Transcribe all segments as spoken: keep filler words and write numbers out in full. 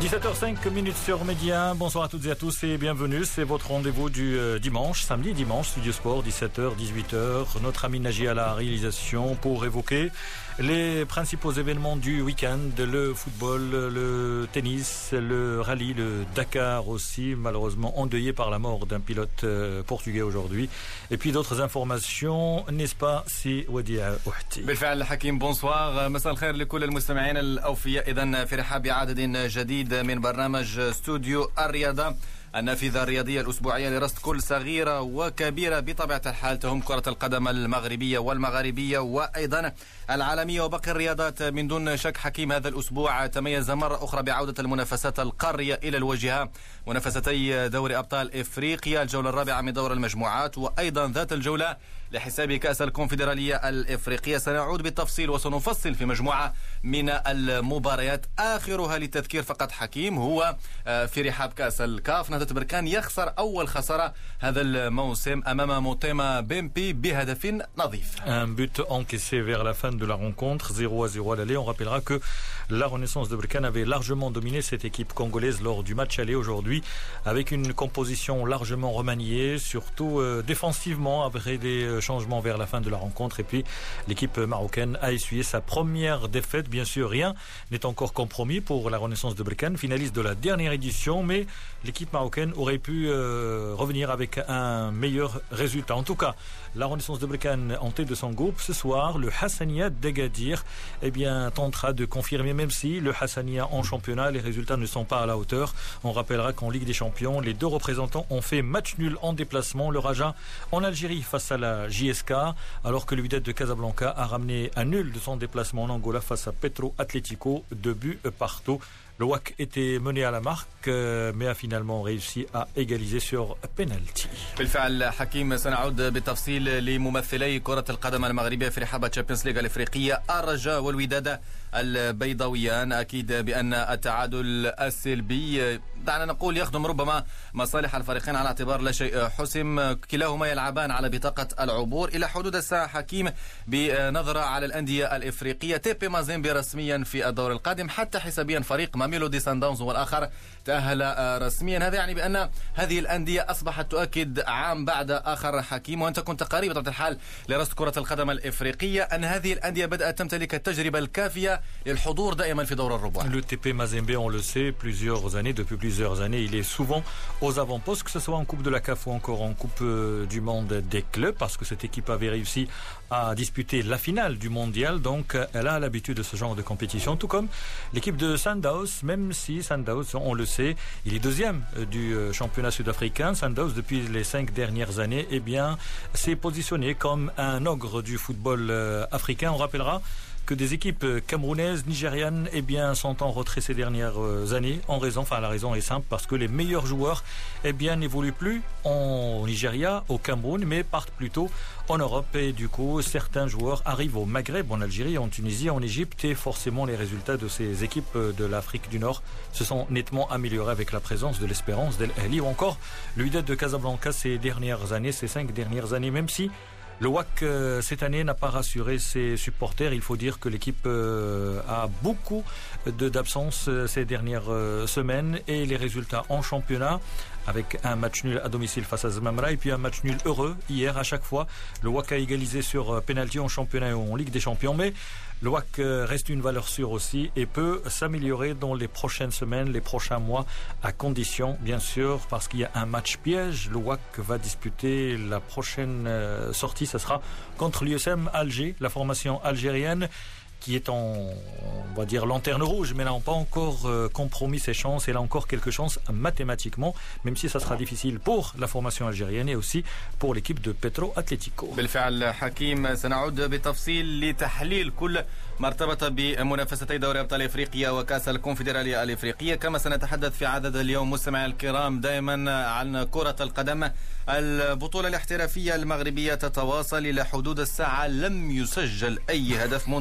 dix-sept heures cinq sur Média. Bonsoir à toutes et à tous et bienvenue. C'est votre rendez-vous du euh, dimanche, samedi dimanche, Studio Sport, dix-sept heures, dix-huit heures. Notre ami Naji à la réalisation pour évoquer les principaux événements du week-end, le football, le tennis, le rallye, le Dakar aussi, malheureusement endeuillé par la mort d'un pilote euh, portugais aujourd'hui. Et puis d'autres informations, n'est-ce pas, si Wadia Ouhti. بالفعل حكيم بونسوار مساء الخير لكل المستمعين الأوفياء. إذن في رحاب عدد جديد من برنامج استوديو الرياضة، النافذة الرياضية الأسبوعية لرصد كل صغيرة وكبيرة بطبيعة الحال تهم كرة القدم المغربية والمغاربية وأيضا العالمية وباقي الرياضات. من دون شك حكيم هذا الأسبوع تميز مرة أخرى بعودة المنافسات القارية إلى الواجهة، منافستي دوري أبطال إفريقيا الجولة الرابعة من دور المجموعات وأيضا ذات الجولة لحساب كأس الكونفدرالية الإفريقية. سنعود بالتفصيل وسنفصل في مجموعة من المباريات، آخرها للتذكير فقط حكيم هو في رحاب كأس الكاف. نهضة بركان يخسر أول خسارة هذا الموسم أمام موتيما بيمبي بهدف نظيف. Un but encaissé vers la fin de la rencontre, zéro à zéro à l'aller. On rappellera que la Renaissance de Berkane avait largement dominé cette équipe congolaise lors du match aller aujourd'hui, avec une composition largement remaniée, surtout euh, défensivement après des changements vers la fin de la rencontre. Et puis l'équipe marocaine a essuyé sa première défaite. Bien sûr, rien n'est encore compromis pour la Renaissance de Berkane, finaliste de la dernière édition, mais l'équipe marocaine aurait pu euh, revenir avec un meilleur résultat. En tout cas, la Renaissance de Berkane en tête de son groupe ce soir, le Hassania d'Agadir, eh bien, tentera de confirmer, même si le Hassania en championnat, les résultats ne sont pas à la hauteur. On rappellera qu'en Ligue des Champions, les deux représentants ont fait match nul en déplacement. Le Raja en Algérie face à la J S K, alors que le Wydad de Casablanca a ramené un nul de son déplacement en Angola face à Petro Atlético, deux buts partout. Le W A C était mené à la marque, mais a finalement réussi à égaliser sur penalty. بالفعل حكيم سنعود بالتفصيل لممثلي كرة القدم المغربية في رحاب تشامبيونز ليغ الإفريقية الرجاء والوداد البيضاويان. أكيد بأن التعادل السلبي دعنا نقول يخدم ربما مصالح الفريقين على اعتبار لا شيء حسم. كلاهما يلعبان على بطاقة العبور إلى حدود الساعة حكيم. بنظرة على الأندية الإفريقية، تيبي مازيمبي رسميا في الدور القادم، حتى حسابيا فريق ميلودي سان داونز والآخر تأهل رسميا. هذا يعني بأن هذه الأندية أصبحت تؤكد عام بعد آخر حكيم، وأنت كنت قريب بطبيعة الحال لرصد كرة القدم الإفريقية، أن هذه الأندية بدأت تمتلك التجربة الكافية للحضور دائما في دور الربع. Le T P Mazembe, on le sait, plusieurs années, depuis plusieurs années, il est souvent aux avant-postes, que ce soit en Coupe de la C A F ou encore en Coupe du Monde des clubs, parce que cette équipe avait réussi à disputer la finale du mondial, donc elle a l'habitude de ce genre de compétition, tout comme l'équipe de Sundowns, même si Sundowns, on le sait, il est deuxième du championnat sud-africain. Sundowns, depuis les cinq dernières années, eh bien, s'est positionné comme un ogre du football africain. On rappellera que des équipes camerounaises, nigérianes, eh bien, sont en retrait ces dernières années en raison, enfin la raison est simple, parce que les meilleurs joueurs, eh bien, n'évoluent plus en Nigeria, au Cameroun, mais partent plutôt en Europe. Et du coup, certains joueurs arrivent au Maghreb, en Algérie, en Tunisie, en Égypte, et forcément les résultats de ces équipes de l'Afrique du Nord se sont nettement améliorés avec la présence de l'Espérance d'El Ahly ou encore le Wydad de Casablanca ces dernières années, ces cinq dernières années, même si le W A C euh, cette année n'a pas rassuré ses supporters. Il faut dire que l'équipe euh, a beaucoup de, d'absence euh, ces dernières euh, semaines, et les résultats en championnat, avec un match nul à domicile face à Zmamra et puis un match nul heureux hier à chaque fois. Le W A C a égalisé sur euh, penalty en championnat et en Ligue des Champions, mais le W A C euh, reste une valeur sûre aussi et peut s'améliorer dans les prochaines semaines, les prochains mois, à condition bien sûr, parce qu'il y a un match piège. Le W A C va disputer la prochaine euh, sortie, ça sera contre l'U S M Alger, la formation algérienne qui est en, on va dire, lanterne rouge, mais n'a pas encore euh, compromis ses chances. Elle a encore quelques chances mathématiquement, même si ça sera difficile pour la formation algérienne et aussi pour l'équipe de Petro Atlético. بالفعل حكيم سنعود بتفصيل لتحليل كل ما ارتبط بمنافستي دوري أبطال إفريقيا وكأس الكونفدرالية الإفريقية. كما سنتحدث في عدد اليوم مستمعي الكرام دائما عن كرة القدم. البطولة الاحترافية المغربية تتواصل إلى حدود الساعة، لم يسجل أي هدف منذ انطلاق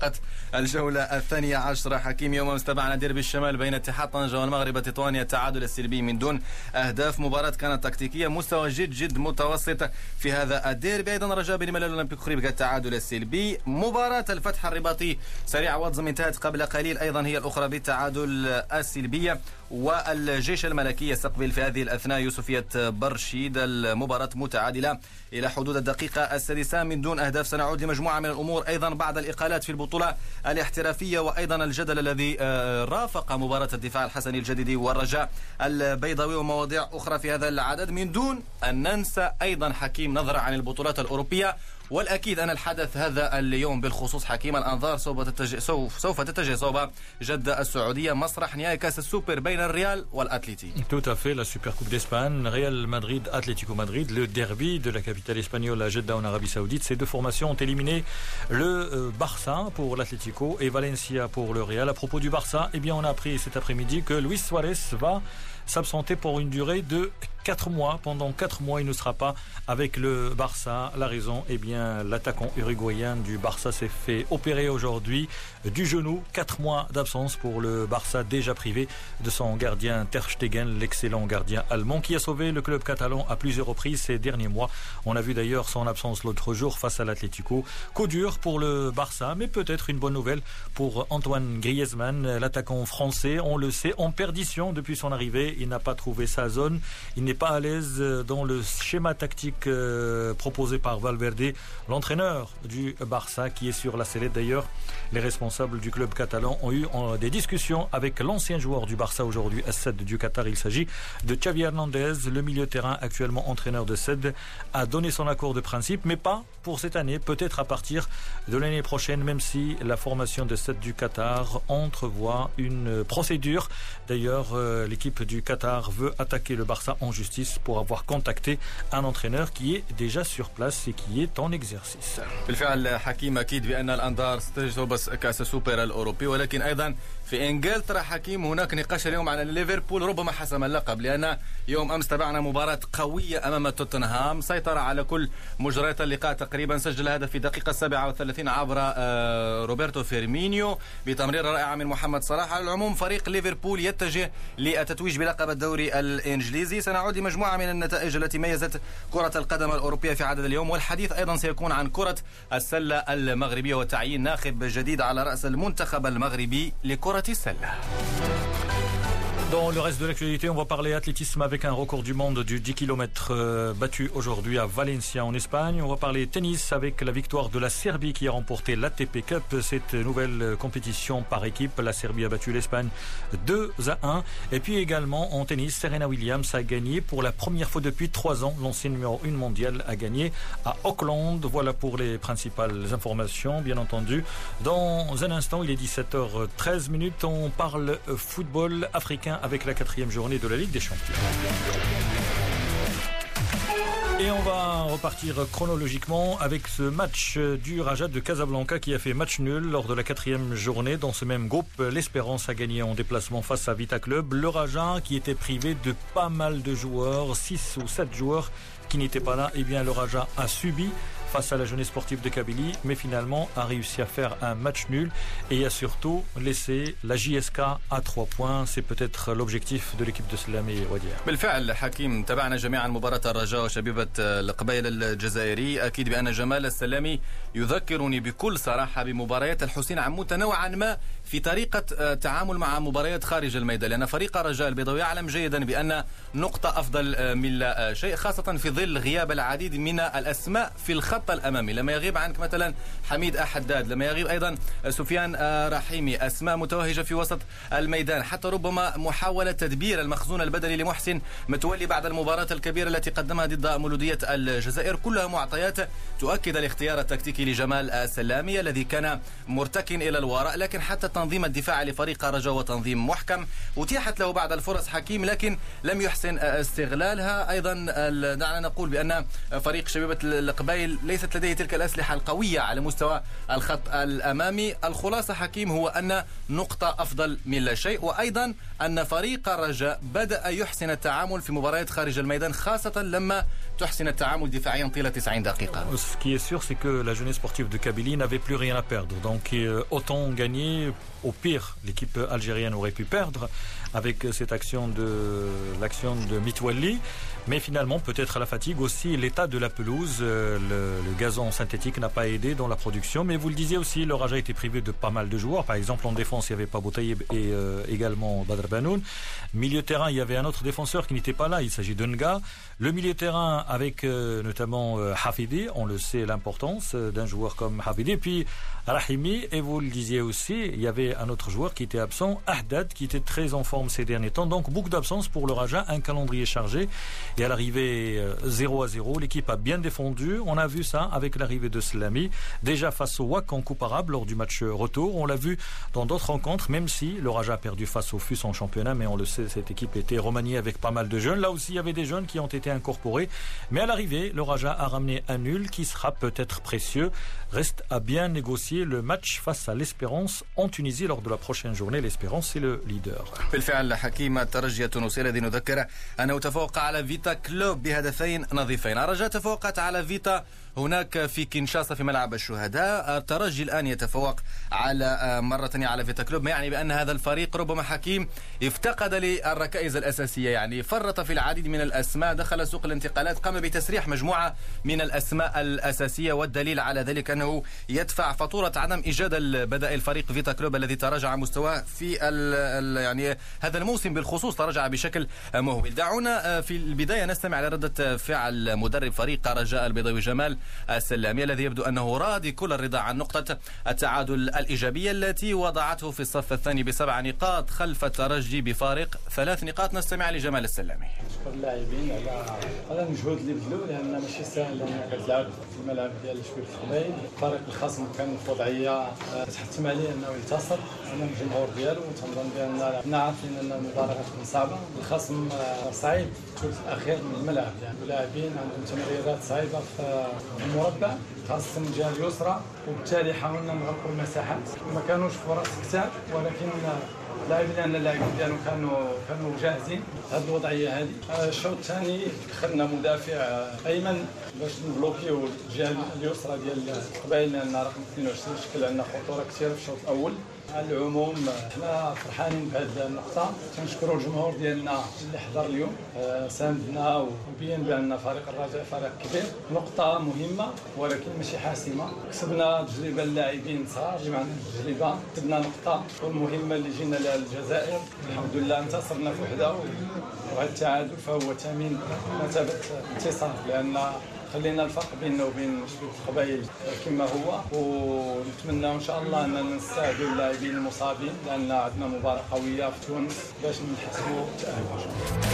مسابقة الجولة الثانية عشرة. حكيم يوم أمس تابعنا ديربي الشمال بين اتحاد طنجة والمغرب تطوانيا، التعادل السلبي من دون أهداف. مباراة كانت تكتيكية، مستوى جد جد متوسط في هذا الديربي. أيضا رجاء بن ملال الأولمبيك خريبكا التعادل السلبي. مباراة الفتح الرباطي سريع واتزم انتهت قبل قليل، أيضا هي الأخرى بالتعادل السلبية. والجيش الملكي يستقبل في هذه الأثناء يوسفية برشيد، المباراة متعادلة إلى حدود الدقيقة السادسة من دون أهداف. سنعود لمجموعة من الأمور أيضا بعد الإقالات في البطولة الاحترافية، وأيضا الجدل الذي رافق مباراة الدفاع الحسني الجديدي والرجاء البيضاوي ومواضيع أخرى في هذا العدد، من دون أن ننسى أيضا حكيم نظرة عن البطولات الأوروبية. والأكيد أن الحدث هذا اليوم بالخصوص حكيم الأنظار سوف تتجه سوف, سوف تتجه صوب جدة السعودية، مسرح نهائي كأس السوبر بين الريال والأتليتي. Tout à fait, la Super Coupe d'Espagne, Real Madrid, Atlético Madrid, le derby de la capitale espagnole à Jeddah en Arabie Saoudite. Ces deux formations ont éliminé le Barça pour l'Atlético et Valencia pour le Real. À propos du Barça, eh bien on a appris cet après-midi que Luis Suarez va s'absenter pour une durée de quatre mois. Pendant quatre mois, il ne sera pas avec le Barça. La raison, eh bien, l'attaquant uruguayen du Barça s'est fait opérer aujourd'hui du genou. Quatre mois d'absence pour le Barça, déjà privé de son gardien Ter Stegen, l'excellent gardien allemand qui a sauvé le club catalan à plusieurs reprises ces derniers mois. On a vu d'ailleurs son absence l'autre jour face à l'Atlético. Coup dur pour le Barça, mais peut-être une bonne nouvelle pour Antoine Griezmann, l'attaquant français. On le sait, en perdition depuis son arrivée. Il n'a pas trouvé sa zone. Il n'est pas à l'aise dans le schéma tactique euh, proposé par Valverde, l'entraîneur du Barça qui est sur la sellette. D'ailleurs, les responsables du club catalan ont eu euh, des discussions avec l'ancien joueur du Barça aujourd'hui à Sed du Qatar. Il s'agit de Xavi Hernandez, le milieu de terrain actuellement entraîneur de Sed, a donné son accord de principe, mais pas pour cette année, peut-être à partir de l'année prochaine, même si la formation de Sed du Qatar entrevoit une procédure. D'ailleurs, euh, l'équipe du Qatar veut attaquer le Barça en justice pour avoir contacté un entraîneur qui est déjà sur place et qui est en exercice. بالفعل حكيم أكيد بأن الأنظار ستجذب بس كأس السوبر الأوروبي، ولكن أيضا في إنجلترا حكيم هناك نقاش اليوم عن ليفربول ربما حسم اللقب، لأن يوم أمس تابعنا مباراة قوية أمام توتنهام، سيطر على كل مجريات اللقاء تقريبا، سجل هدف في الدقيقة السابعة والثلاثين عبر روبرتو فيرمينيو بتمرير رائع من محمد صلاح. على العموم فريق ليفربول يتجه للتتويج بلقب الدوري الإنجليزي. سنعود لمجموعة من النتائج التي ميزت كرة القدم الأوروبية في عدد اليوم، والحديث أيضا سيكون عن كرة السلة المغربية وتعيين ناخب جديد على رأس المنتخب المغربي لكرة السلة. Dans le reste de l'actualité, on va parler athlétisme avec un record du monde du dix kilomètres euh, battu aujourd'hui à Valencia en Espagne. On va parler tennis avec la victoire de la Serbie qui a remporté l'A T P Cup, cette nouvelle compétition par équipe. La Serbie a battu l'Espagne deux à un. Et puis également en tennis, Serena Williams a gagné pour la première fois depuis trois ans. L'ancienne numéro un mondiale a gagné à Auckland. Voilà pour les principales informations, bien entendu. Dans un instant, il est dix-sept heures treize minutes. On parle football africain avec la quatrième journée de la Ligue des Champions. Et on va repartir chronologiquement avec ce match du Raja de Casablanca qui a fait match nul lors de la quatrième journée. Dans ce même groupe, l'Espérance a gagné en déplacement face à Vita Club. Le Raja, qui était privé de pas mal de joueurs, six ou sept joueurs qui n'étaient pas là, eh bien le Raja a subi face à la jeunesse sportive de Kabylie, mais finalement a réussi à faire un match nul et a surtout laissé la J S K à trois points. C'est peut-être l'objectif de l'équipe de Slamé Wadier. بالفعل حكيم تابعنا جميعا مباراة الرجاء وشبيبة القبائل الجزائري. أكيد بأن جمال السلامي يذكرني بكل صراحة بمباريات الحسين عموت نوعا ما في طريقة تعامل مع مباريات خارج الميدان، لأن فريق الرجاء البيضاوي يعلم جيدا بأن نقطة أفضل من لا شيء، خاصة في ظل غياب العديد من الأسماء في الخط الأمامي. لما يغيب عنك مثلا حميد أحداد، لما يغيب أيضا سفيان رحيمي، أسماء متوهجة في وسط الميدان، حتى ربما محاولة تدبير المخزون البدني لمحسن متولي بعد المباراة الكبيرة التي قدمها ضد مولودية الجزائر، كلها معطيات تؤكد الاختيار التكتيكي لجمال السلامي الذي كان مرتكن إلى الوراء، لكن حتى التنظيم الدفاعي لفريق الرجاء وتنظيم محكم. أتيحت له بعض الفرص حكيم لكن لم يحسن استغلالها. أيضا دعنا نقول بأن فريق شبيبة القبائل ليس وليست لديه تلك الأسلحة القوية على مستوى الخط الأمامي. الخلاصة حكيم هو أن نقطة أفضل من لا شيء، وأيضا أن فريق الرجاء بدأ يحسن التعامل في مباريات خارج الميدان، خاصة لما تحسن التعامل دفاعيا طيلة تسعين دقيقة. Ce qui est sûr, c'est que la jeunesse sportive de Kabylie n'avait plus rien à perdre. Donc euh, autant gagner, au pire, l'équipe algérienne aurait pu perdre avec cette action de l'action de Mitwalli. Mais finalement, peut-être la fatigue aussi, l'état de la pelouse, euh, le, le gazon synthétique n'a pas aidé dans la production. Mais vous le disiez aussi, le Raja était privé de pas mal de joueurs. Par exemple, en défense, il n'y avait pas Boutaïeb et euh, également Badr Banoun. Milieu de terrain, il y avait un autre défenseur qui n'était pas là. Il s'agit d'Unga. Le milieu de terrain avec euh, notamment euh, Hafidi. On le sait, l'importance euh, d'un joueur comme Hafidi. Puis Rahimi. Et vous le disiez aussi, il y avait un autre joueur qui était absent, Ahdad, qui était très en forme ces derniers temps. Donc, beaucoup d'absence pour le Raja. Un calendrier chargé. Et à l'arrivée zéro à zéro, l'équipe a bien défendu. On a vu ça avec l'arrivée de Slami. Déjà face au W A C en Coupe arabe lors du match retour. On l'a vu dans d'autres rencontres, même si le Raja a perdu face au F U S en championnat. Mais on le sait, cette équipe était remaniée avec pas mal de jeunes. Là aussi, il y avait des jeunes qui ont été incorporés. Mais à l'arrivée, le Raja a ramené un nul qui sera peut-être précieux. Reste à bien négocier le match face à l'Espérance en Tunisie lors de la prochaine journée. L'Espérance, c'est le leader. بالفعل حكيم الترجي التونسي الذي نذكر أنه تفوق على فيتا كلوب بهدفين نظيفين. الرجاء تفوقت على فيتا هناك في كينشاسا في ملعب الشهداء. الترجي الآن يتفوق على مرة ثانية على فيتا كلوب، ما يعني بأن هذا الفريق ربما حكيم افتقد للركائز الأساسية، يعني فرط في العديد من الأسماء، دخل سوق الانتقالات، قام بتسريح مجموعة من الأسماء الأساسية، والدليل على ذلك أنه يدفع فاتورة عدم إيجاد البدائل فريق فيتا كلوب الذي تراجع مستواه في ال ال يعني هذا الموسم بالخصوص، تراجع بشكل مهول. دعونا في البداية نستمع على ردة فعل مدرب فريق رجاء البيضاوي جمال السلامي الذي يبدو أنه راضي كل الرضا عن نقطة التعادل الإيجابية التي وضعته في الصف الثاني بسبع نقاط خلف الترجي بفارق ثلاث نقاط. نستمع لجمال السلامي. نشكر اللاعبين على على المجهود اللي بذلوا، لأن ماشي سهل أنك تلعب في الملعب ديال شبيبة القبائل. فريق الخصم كان في وضعية تحتم عليه أنه ينتصر أمام الجمهور ديالو، وتنظن بأن كنا عارفين أن المباراة غتكون صعبة. الخصم صعيب الثلث الأخير من الملعب، يعني اللاعبين عندهم تمريرات صعيبة في المربع خاصة من الجهة اليسرى، وبالتالي حاولنا نغلقوا المساحات. ما كانوش فرص كثار، ولكن لاعبين لأن اللاعبين ديالهم كانوا كانوا جاهزين هذه الوضعية هذه. الشوط الثاني دخلنا مدافع أيمن باش نبلوكيو الجهة اليسرى ديال القبائل، لأن رقم اثنين وعشرين شكل عندنا خطورة كثيرة في الشوط الأول. على العموم احنا فرحانين بهذه النقطة، تنشكروا الجمهور ديالنا اللي حضر اليوم ساندنا وبين بأن فريق الرجاء فريق كبير. نقطة مهمة ولكن ماشي حاسمة. كسبنا تجربة اللاعبين صغار اللي معنا تجربة، كسبنا نقطة والمهمة اللي جينا لها الجزائر. الحمد لله انتصرنا في وحدة، وهذا التعادل فهو ثمين مثابة انتصار، لأن خلينا الفرق بيننا وبين القبائل كما هو، ونتمنى ان شاء الله اننا نستعدوا اللاعبين المصابين، لان عندنا مباراه قويه في تونس باش نحسبوا التاهل.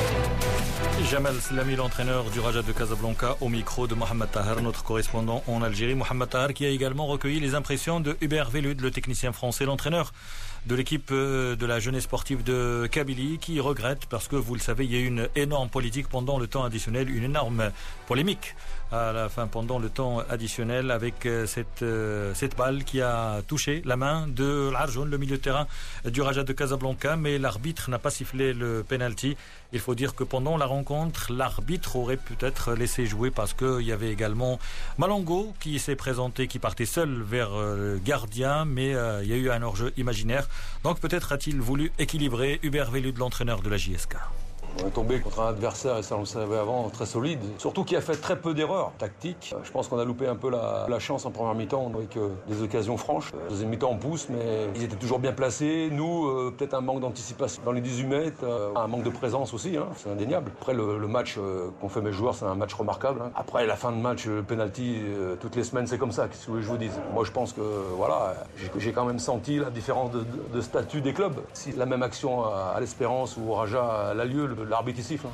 Jamal Slami, l'entraîneur du Raja de Casablanca, au micro de Mohamed Tahar, notre correspondant en Algérie. Mohamed Tahar qui a également recueilli les impressions de Hubert Velud, le technicien français, l'entraîneur de l'équipe de la jeunesse sportive de Kabylie, qui regrette parce que, vous le savez, il y a eu une énorme politique pendant le temps additionnel, une énorme polémique à la fin pendant le temps additionnel avec cette, cette balle qui a touché la main de l'Arjoun, le milieu de terrain du Raja de Casablanca, mais l'arbitre n'a pas sifflé le penalty. Il faut dire que pendant la rencontre, l'arbitre aurait peut-être laissé jouer parce qu'il y avait également Malongo qui s'est présenté, qui partait seul vers le gardien, mais euh, il y a eu un hors-jeu imaginaire. Donc peut-être a-t-il voulu équilibrer. Hubert Velud, l'entraîneur de la J S K. On est tombé contre un adversaire, et ça on le savait avant, très solide. Surtout qui a fait très peu d'erreurs tactiques. Je pense qu'on a loupé un peu la, la chance en première mi-temps avec euh, des occasions franches. Deuxième mi-temps on pousse, mais ils étaient toujours bien placés. Nous, euh, peut-être un manque d'anticipation dans les dix-huit mètres, euh, un manque de présence aussi, hein, c'est indéniable. Après le, le match euh, qu'ont fait mes joueurs, c'est un match remarquable. Hein. Après la fin de match, le penalty, euh, toutes les semaines c'est comme ça, qu'est-ce que je vous dise. Moi je pense que voilà, j'ai quand même senti la différence de, de, de statut des clubs. Si la même action à, à l'Espérance ou au Raja a lieu, l'arbitre يصيف.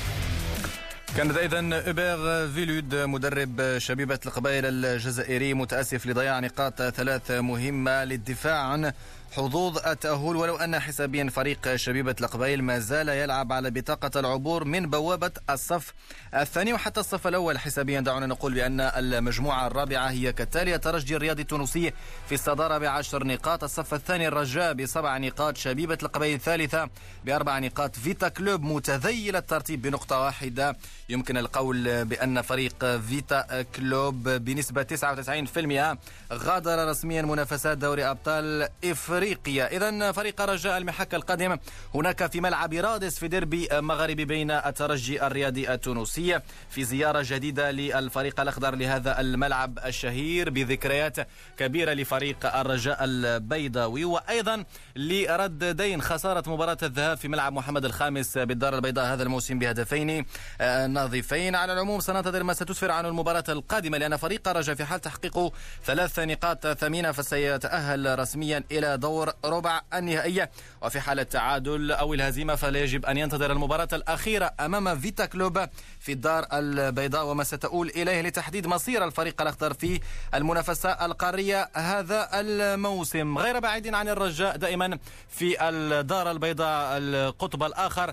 كان إذن إبير فيلود مدرب شبيبة القبائل الجزائري متأسف لضياع نقاط ثلاث مهمة للدفاع عن حظوظ التأهل، ولو أن حسابيا فريق شبيبة القبائل ما زال يلعب على بطاقة العبور من بوابة الصف الثاني وحتى الصف الأول حسابيا. دعونا نقول بأن المجموعة الرابعة هي كالتالي: الترجي الرياضي التونسي في الصدارة بعشر نقاط، الصف الثاني الرجاء بسبع نقاط، شبيبة القبائل الثالثة بأربع نقاط، فيتا كلوب متذيل الترتيب بنقطة واحدة. يمكن القول بأن فريق فيتا كلوب بنسبة تسعة وتسعين بالمئة غادر رسميا منافسات دوري أبطال إفريقيا. إذن فريق رجاء المحك القادم هناك في ملعب رادس في ديربي مغربي بين الترجي الرياضي التونسي، في زيارة جديدة للفريق الأخضر لهذا الملعب الشهير بذكريات كبيرة لفريق الرجاء البيضاوي، وأيضا لرد دين خسارة مباراة الذهاب في ملعب محمد الخامس بالدار البيضاء هذا الموسم بهدفين نظيفين. على العموم سننتظر ما ستسفر عن المباراة القادمة، لأن فريق الرجاء في حال تحقيق ثلاث نقاط ثمينة فسيتأهل رسميا إلى دور ربع النهائية، وفي حال التعادل أو الهزيمة فلا يجب أن ينتظر المباراة الأخيرة أمام فيتا كلوب في الدار البيضاء، وما ستؤول إليه لتحديد مصير الفريق الأخضر في المنافسة القارية هذا الموسم. غير بعيد عن الرجاء دائما في الدار البيضاء القطب الآخر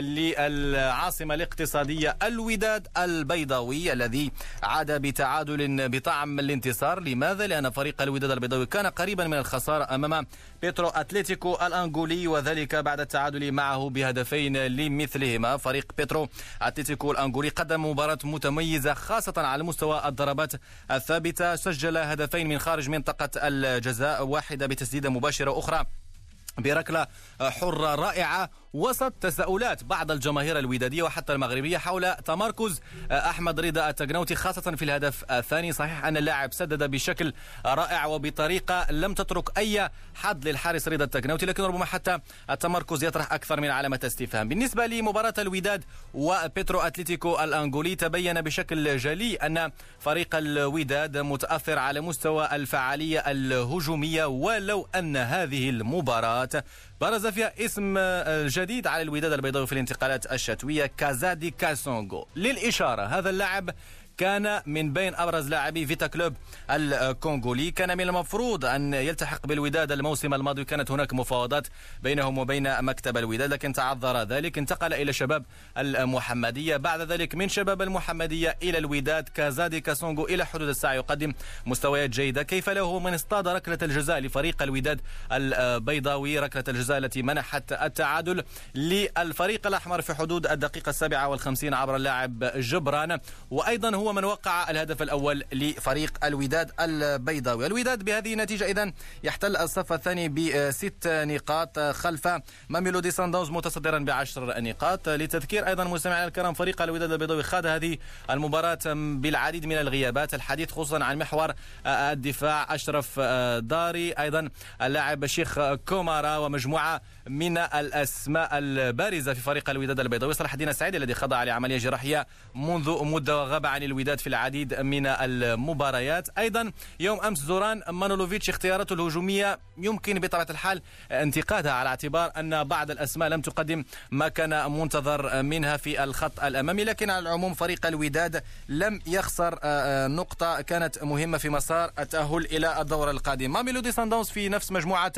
للعاصمة الاقتصادية الوداد البيضاوي الذي عاد بتعادل بطعم الانتصار. لماذا؟ لأن فريق الوداد البيضاوي كان قريبا من الخسارة أمام بيترو أتليتيكو الأنغولي، وذلك بعد التعادل معه بهدفين لمثلهما. فريق بيترو أتليتيكو الأنغولي قدم مباراة متميزة خاصة على مستوى الضربات الثابتة، سجل هدفين من خارج منطقة الجزاء، واحدة بتسديدة مباشرة أخرى بركلة حرة رائعة، وسط تساؤلات بعض الجماهير الودادية وحتى المغربية حول تمركز أحمد رضا التقنوتي خاصة في الهدف الثاني. صحيح أن اللاعب سدد بشكل رائع وبطريقة لم تترك أي حد للحارس رضا التقنوتي، لكن ربما حتى التمركز يطرح أكثر من علامة استفهام. بالنسبة لمباراة الوداد وبيترو أتليتيكو الأنغولي تبين بشكل جلي أن فريق الوداد متأثر على مستوى الفعالية الهجومية، ولو أن هذه المباراة برز فيها اسم جديد على الوداد البيضاوي في الانتقالات الشتوية، كازادي كاسونغو. للإشارة هذا اللاعب كان من بين أبرز لاعبي فيتا كلوب الكونغولي، كان من المفروض أن يلتحق بالوداد الموسم الماضي، كانت هناك مفاوضات بينهم وبين مكتب الوداد لكن تعذر ذلك، انتقل إلى شباب المحمدية، بعد ذلك من شباب المحمدية إلى الوداد. كازادي كاسونغو إلى حدود الساعة يقدم مستويات جيدة، كيف له من اصطاد ركلة الجزاء لفريق الوداد البيضاوي، ركلة الجزاء التي منحت التعادل للفريق الأحمر في حدود الدقيقة السابعة والخمسين عبر اللاعب جبران، وأيضا هو من وقع الهدف الأول لفريق الوداد البيضاوي. الوداد بهذه النتيجة إذن يحتل الصف الثاني بست نقاط خلف ماميلودي سانداونز متصدرا بعشر نقاط. لتذكير أيضا مستمعينا الكرام، فريق الوداد البيضاوي خاض هذه المباراة بالعديد من الغيابات، الحديث خصوصا عن محور الدفاع أشرف داري، أيضا اللاعب الشيخ كومارا، ومجموعة من الأسماء البارزة في فريق الوداد البيضاوي. صلاح الدين السعيد الذي خضع لعملية جراحية منذ مدة وغاب عن الوداد في العديد من المباريات. أيضا يوم أمس زوران مانولوفيتش اختياراته الهجومية يمكن بطبيعة الحال انتقادها على اعتبار أن بعض الأسماء لم تقدم ما كان منتظر منها في الخط الأمامي، لكن على العموم فريق الوداد لم يخسر نقطة كانت مهمة في مسار التأهل إلى الدور القادم. ماميلودي سانداونز في نفس مجموعة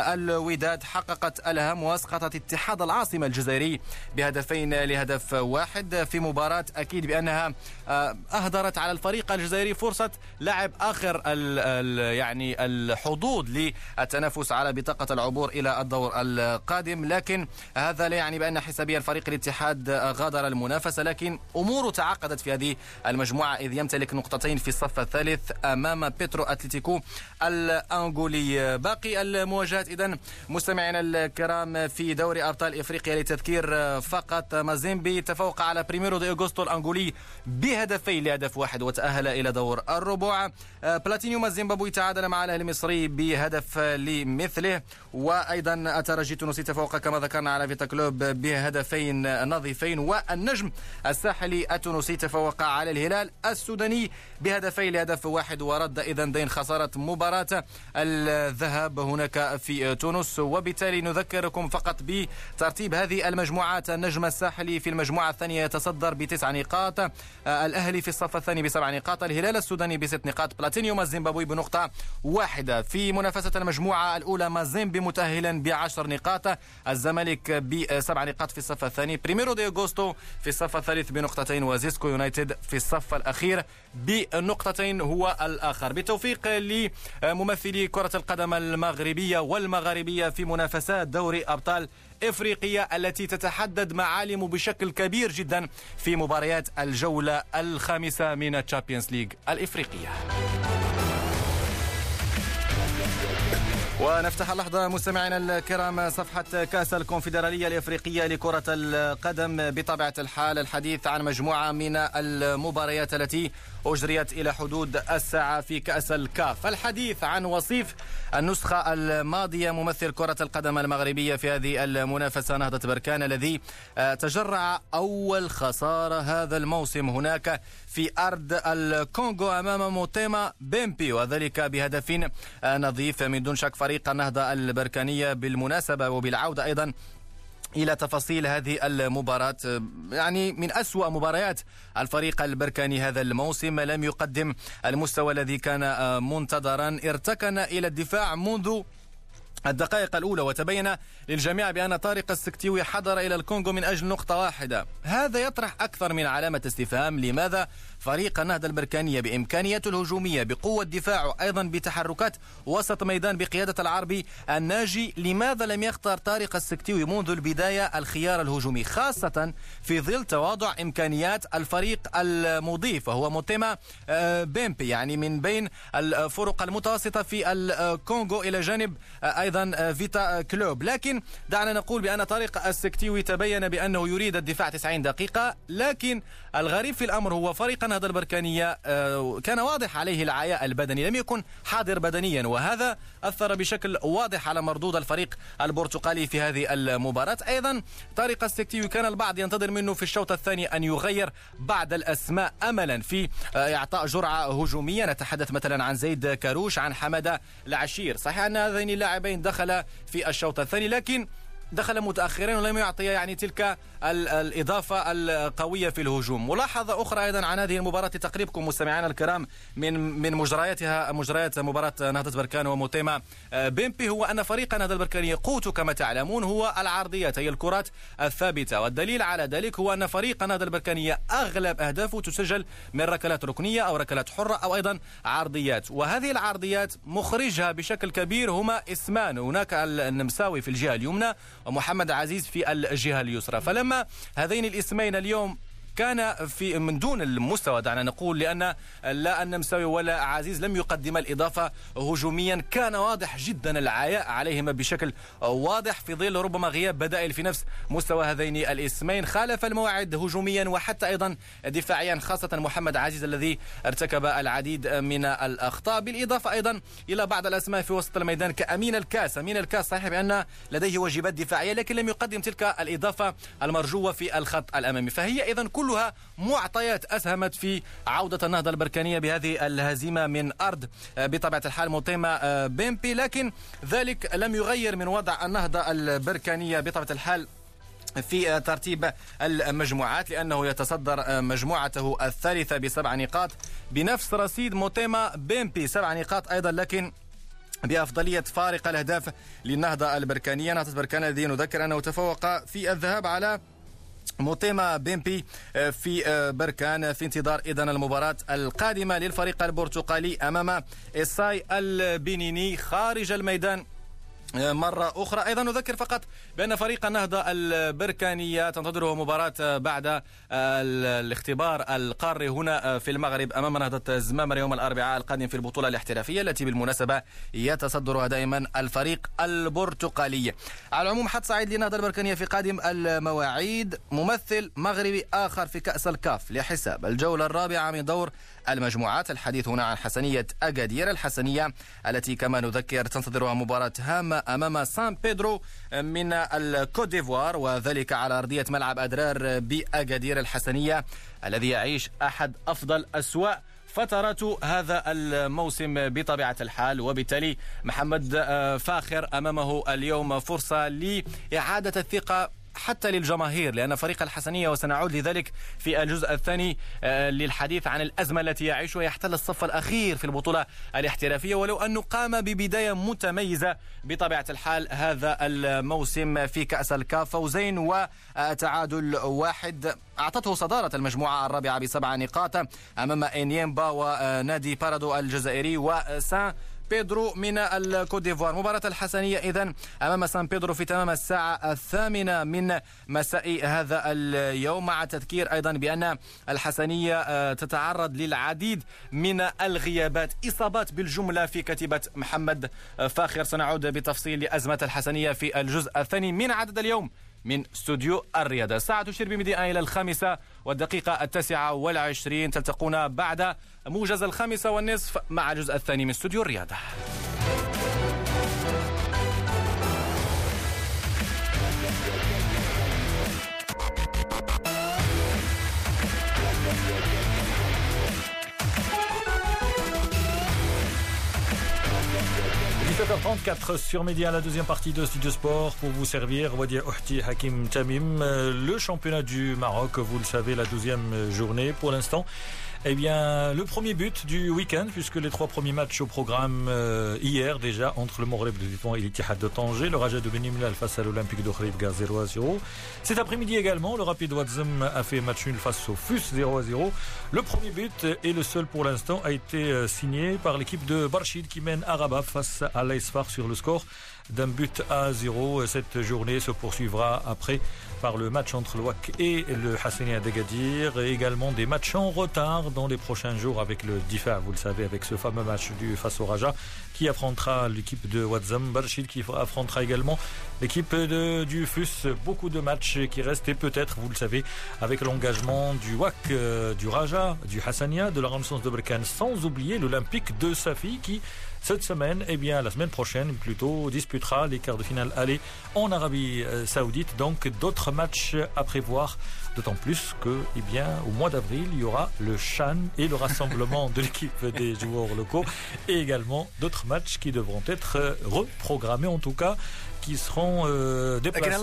الوداد حققت الهم واسقطت اتحاد العاصمة الجزائري بهدفين لهدف واحد في مباراة أكيد بأنها أهدرت على الفريق الجزائري فرصة لعب آخر ال ال يعني الحظوظ للتنافس على بطاقة العبور إلى الدور القادم، لكن هذا لا يعني بأن حسابيا فريق الاتحاد غادر المنافسة، لكن أمور تعقدت في هذه المجموعة إذ يمتلك نقطتين في الصف الثالث أمام بيترو أتليتيكو الأنغولي. باقي المواجهات إذن مستمعينا الكرام في دوري أبطال إفريقيا لتذكير فقط، مازيمبي تفوق على بريميرو دي أغوستو الأنغولي بهدفين لهدف واحد وتأهل إلى دور الربع. بلاتينيوم الزيمبابوي تعادل مع الأهلي المصري بهدف لمثله، وأيضا الترجي التونسي تفوق كما ذكرنا على فيتا كلوب بهدفين نظيفين، والنجم الساحلي التونسي تفوق على الهلال السوداني بهدفين لهدف واحد، ورد إذن دين خسارة مباراة الذهاب هناك في تونس. وبالتالي نذكركم فقط بترتيب هذه المجموعات. النجم الساحلي في المجموعة الثانية يتصدر بتسع نقاط، الأهلي مالي في الصف الثاني بسبع نقاط، الهلال السوداني بست نقاط، بلاتينيوم الزيمبابوي بنقطة واحدة. في منافسة المجموعة الأولى مازيمبي متأهلا بعشر نقاط، الزمالك بسبع نقاط في الصف الثاني، بريميرو دي أغوستو في الصف الثالث بنقطتين، وزيسكو يونايتد في الصف الأخير بنقطتين هو الآخر. بالتوفيق لممثلي كرة القدم المغربية والمغاربية في منافسات دوري أبطال إفريقية التي تتحدد معالم بشكل كبير جدا في مباريات الجولة الخامسة من الشامبيونز ليج الإفريقية. ونفتح اللحظة مستمعينا الكرام صفحة كأس الكونفدرالية الإفريقية لكرة القدم بطبيعة الحال، الحديث عن مجموعة من المباريات التي أجريت إلى حدود الساعة في كأس الكاف. الحديث عن وصيف النسخة الماضية ممثل كرة القدم المغربية في هذه المنافسة نهضة بركان الذي تجرع أول خسارة هذا الموسم هناك في أرض الكونغو أمام موتيما بيمبي، وذلك بهدف نظيف من دون شك. فريق النهضة البركانية بالمناسبة وبالعودة أيضا إلى تفاصيل هذه المباراة، يعني من أسوأ مباريات الفريق البركاني هذا الموسم، لم يقدم المستوى الذي كان منتظرا، ارتكن إلى الدفاع منذ الدقائق الأولى، وتبين للجميع بأن طارق السكتيوي حضر إلى الكونغو من أجل نقطة واحدة. هذا يطرح أكثر من علامة استفهام، لماذا فريق النهضة البركانية بإمكانياته الهجومية بقوة دفاعه أيضا بتحركات وسط ميدان بقيادة العربي الناجي، لماذا لم يختار طارق السكتيوي منذ البداية الخيار الهجومي، خاصة في ظل تواضع إمكانيات الفريق المضيف وهو موتيما بيمبي، يعني من بين الفرق المتوسطة في الكونغو إلى جانب أيضا فيتا كلوب. لكن دعنا نقول بأن طارق السكتيوي تبين بأنه يريد الدفاع تسعين دقيقة، لكن الغريب في الأمر هو فريق النهضة البركانية كان واضح عليه العياء البدني، لم يكن حاضر بدنيا، وهذا أثر بشكل واضح على مردود الفريق البرتقالي في هذه المباراة. أيضا طارق السكتيوي كان البعض ينتظر منه في الشوط الثاني أن يغير بعض الأسماء أملا في إعطاء جرعة هجومية، نتحدث مثلا عن زيد كاروش، عن حمادة العشير. صحيح أن هذين اللاعبين دخل في الشوط الثاني، لكن دخل متأخرين ولم يعطي يعني تلك الإضافة القوية في الهجوم. ملاحظة أخرى أيضا عن هذه المباراة لتقريبكم مستمعينا الكرام من من مجرياتها مجريات مباراة نهضة بركان وموتيما بيمبي، هو أن فريق نهضة البركان قوته كما تعلمون هو العرضيات، هي الكرات الثابتة، والدليل على ذلك هو أن فريق نهضة البركانية أغلب أهدافه تسجل من ركلات ركنية أو ركلات حرة أو أيضا عرضيات، وهذه العرضيات مخرجها بشكل كبير هما اسمان، هناك النمساوي في الجهة اليمنى ومحمد عزيز في الجهة اليسرى. فلما هذين الاسمين اليوم كان في من دون المستوى دعنا نقول، لأن لا النمساوي ولا عزيز لم يقدم الإضافة هجوميا، كان واضح جدا العياء عليهما بشكل واضح في ظل ربما غياب بدائل في نفس مستوى هذين الاسمين. خالف الموعد هجوميا وحتى أيضا دفاعيا، خاصة محمد عزيز الذي ارتكب العديد من الأخطاء، بالإضافة أيضا إلى بعض الأسماء في وسط الميدان كأمين الكاس. أمين الكاس صحيح بأن لديه واجبات دفاعية، لكن لم يقدم تلك الإضافة المرجوة في الخط الأمامي. فهي إذن كل كلها معطيات أسهمت في عودة النهضة البركانية بهذه الهزيمة من أرض بطبيعة الحال موتيما بيمبي، لكن ذلك لم يغير من وضع النهضة البركانية بطبيعة الحال في ترتيب المجموعات، لأنه يتصدر مجموعته الثالثة بسبع نقاط بنفس رصيد موتيما بيمبي سبع نقاط أيضا، لكن بأفضلية فارق الأهداف للنهضة البركانية. نهضة بركان الذي نذكر أنه تفوق في الذهاب على موتيما بيمبي في بركان، في انتظار إذن المباراة القادمة للفريق البرتقالي أمام إساي البنيني خارج الميدان مرة أخرى. أيضا نذكر فقط بأن فريق النهضة البركانية تنتظره مباراة بعد الاختبار القاري هنا في المغرب أمام نهضة زمامر يوم الأربعاء القادم في البطولة الاحترافية التي بالمناسبة يتصدرها دائما الفريق البرتقالي. على العموم حد سعيد للنهضة البركانية في قادم المواعيد، ممثل مغربي آخر في كأس الكاف لحساب الجولة الرابعة من دور المجموعات. الحديث هنا عن حسنية أكادير، الحسنية التي كما نذكر تنتظرها مباراة هامة أمام سان بيدرو من الكوت ديفوار، وذلك على أرضية ملعب أدرار بأكادير. الحسنية الذي يعيش أحد أفضل أسواء فترات هذا الموسم بطبيعة الحال، وبالتالي محمد فاخر أمامه اليوم فرصة لإعادة الثقة حتى للجماهير، لأن فريق الحسنية وسنعود لذلك في الجزء الثاني للحديث عن الأزمة التي يعيشها يحتل الصف الأخير في البطولة الاحترافية، ولو أنه قام ببداية متميزة بطبيعة الحال هذا الموسم في كأس الكاف، فوزين وتعادل واحد أعطته صدارة المجموعة الرابعة بسبع نقاط أمام إنيمبا ونادي بارادو الجزائري وسان بيدرو من الكوت ديفوار. مباراة الحسنية إذن أمام سان بيدرو في تمام الساعة الثامنة من مساء هذا اليوم، مع تذكير أيضا بأن الحسنية تتعرض للعديد من الغيابات، إصابات بالجملة في كتيبة محمد فاخر. سنعود بتفصيل لأزمة الحسنية في الجزء الثاني من عدد اليوم من استوديو الرياضة. الساعة تشير بمضيئة إلى الخامسة والدقيقة التاسعة والعشرين. تلتقون بعد موجز الخامسة والنصف مع الجزء الثاني من استوديو الرياضة. dix-sept heures trente-quatre sur Média, la deuxième partie de Studio Sport pour vous servir. Wadia Ouhti Hakim Tamim, le championnat du Maroc, vous le savez, la douzième journée pour l'instant. Eh bien, le premier but du week-end, puisque les trois premiers matchs au programme euh, hier déjà entre le Maghreb de Tétouan et l'Ittihad de Tanger, le Raja de Benimlal face à l'Olympique de Khouribga zéro à zéro. Cet après-midi également, le Rapid Ouazzem a fait match nul face au F U S zéro à zéro. Le premier but, et le seul pour l'instant, a été signé par l'équipe de Barchid qui mène à Rabat face à l'Aïsfar sur le score d'un but à zéro. Cette journée se poursuivra après par le match entre le W A C et le Hassania d'Agadir, et également des matchs en retard dans les prochains jours avec le Difa, vous le savez, avec ce fameux match du face au Raja qui affrontera l'équipe de Ouazzem, Barchid qui affrontera également l'équipe de, du F U S. Beaucoup de matchs qui restent, et peut-être, vous le savez, avec l'engagement du W A C, euh, du Raja, du Hassania, de la Ramsons de Berkane, sans oublier l'Olympique de Safi qui cette semaine, eh bien la semaine prochaine plutôt, disputera les quarts de finale aller en Arabie Saoudite. Donc d'autres matchs à prévoir, d'autant plus que, eh bien, au mois d'avril, il y aura le Chan et le rassemblement de l'équipe des joueurs locaux, et également d'autres matchs qui devront être reprogrammés, en tout cas qui seront euh, déplacés.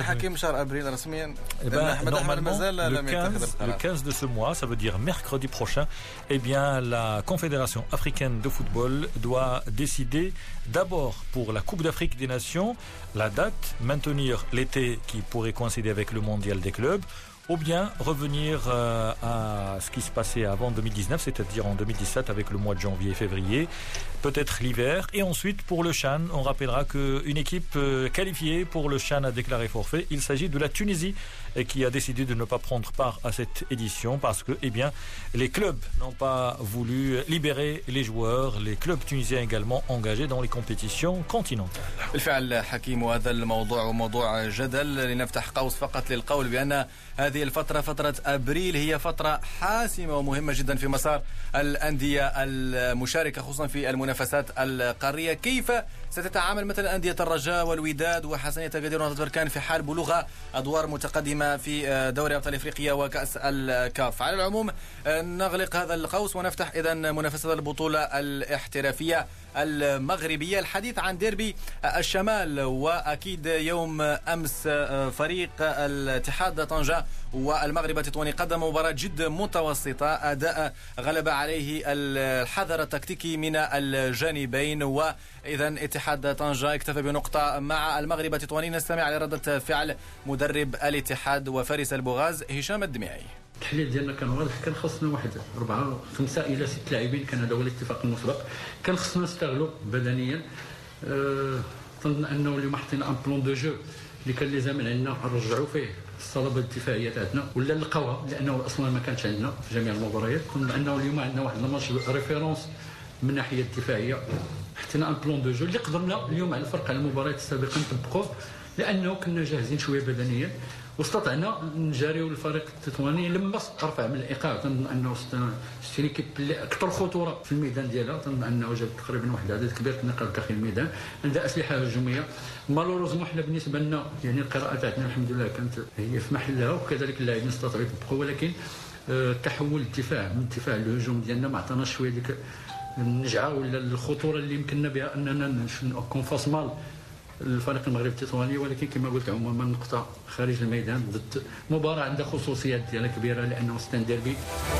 Eh ben, normalement, le quinze, le quinze de ce mois, ça veut dire mercredi prochain, eh bien, la Confédération africaine de football doit décider d'abord pour la Coupe d'Afrique des Nations la date, maintenir l'été qui pourrait coïncider avec le mondial des clubs, ou bien revenir euh, à ce qui se passait avant deux mille dix-neuf, c'est-à-dire en deux mille dix-sept avec le mois de janvier et février, peut-être l'hiver. Et ensuite pour le Chan, on rappellera qu'une équipe euh, qualifiée pour le Chan a déclaré forfait. Il s'agit de la Tunisie et qui a décidé de ne pas prendre part à cette édition parce que, eh bien, les clubs n'ont pas voulu libérer les joueurs, les clubs tunisiens également engagés dans les compétitions continentales. بالفعل حكيم، وهذا الموضوع موضوع جدل. لنفتح قوس فقط للقول بأن هذه الفترة فترة أبريل هي فترة حاسمة ومهمة جدا في مسار الأندية المشاركة خصوصا في المنافسات القارية. كيف ستتعامل مثلا أندية الرجاء والوداد وحسنية أكادير ونهضة بركان في حال بلوغ أدوار متقدمة في دوري أبطال أفريقيا وكأس الكاف؟ على العموم نغلق هذا القوس ونفتح إذن منافسة البطولة الاحترافية المغربية. الحديث عن ديربي الشمال، وأكيد يوم أمس فريق الاتحاد طنجة والمغرب التطواني قدم مباراة جد متوسطة، أداء غلب عليه الحذر التكتيكي من الجانبين، وإذا اتحاد طنجة اكتفى بنقطة مع المغرب التطواني. نستمع على ردة فعل مدرب الاتحاد وفارس البوغاز هشام الدميعي. التحليل ديالنا كان واضح، كان خصنا واحد أربعة خمسة إلى ست لاعبين، كان هذا هو الاتفاق المسبق، كان خصنا نستغلوا بدنيا. أه ظن أنه اليوم حطينا ان بلون دو جو اللي كان لازم عندنا نرجعوا فيه الصلابه الدفاعيه تاعنا ولا نلقاوها، لانه اصلا ما كانتش عندنا في جميع المباريات. كنا انه اليوم عندنا واحد الماتش ريفيرونس من الناحيه الدفاعيه، حطينا ان بلون دو جو اللي قدرنا اليوم على الفرق على المباريات السابقه نطبقوه، لانه كنا جاهزين شويه بدنيا واستطعنا نجاريو الفريق التطواني لما رفع من الايقاع. تنظن انه شتي ليكيب اللي اكثر خطوره في الميدان ديالها، تنظن انه جاب تقريبا واحد العدد كبير كنا داخل الميدان، عندها اسلحه هجوميه. مالوروزمون حنا بالنسبه لنا يعني القراءه تاعتنا الحمد لله كانت هي في محلها، وكذلك اللاعبين استطاعوا يطبقوا، ولكن تحول الدفاع من الدفاع للهجوم ديالنا ما عطاناش شويه ديك النجعه ولا الخطوره اللي يمكننا بها اننا نكون فاس مال الفريق المغربي التطواني، ولكن كما قلت عموما نقطه خارج الميدان ضد مباراه عندها خصوصيات ديالها كبيره لانه ستان ديربي.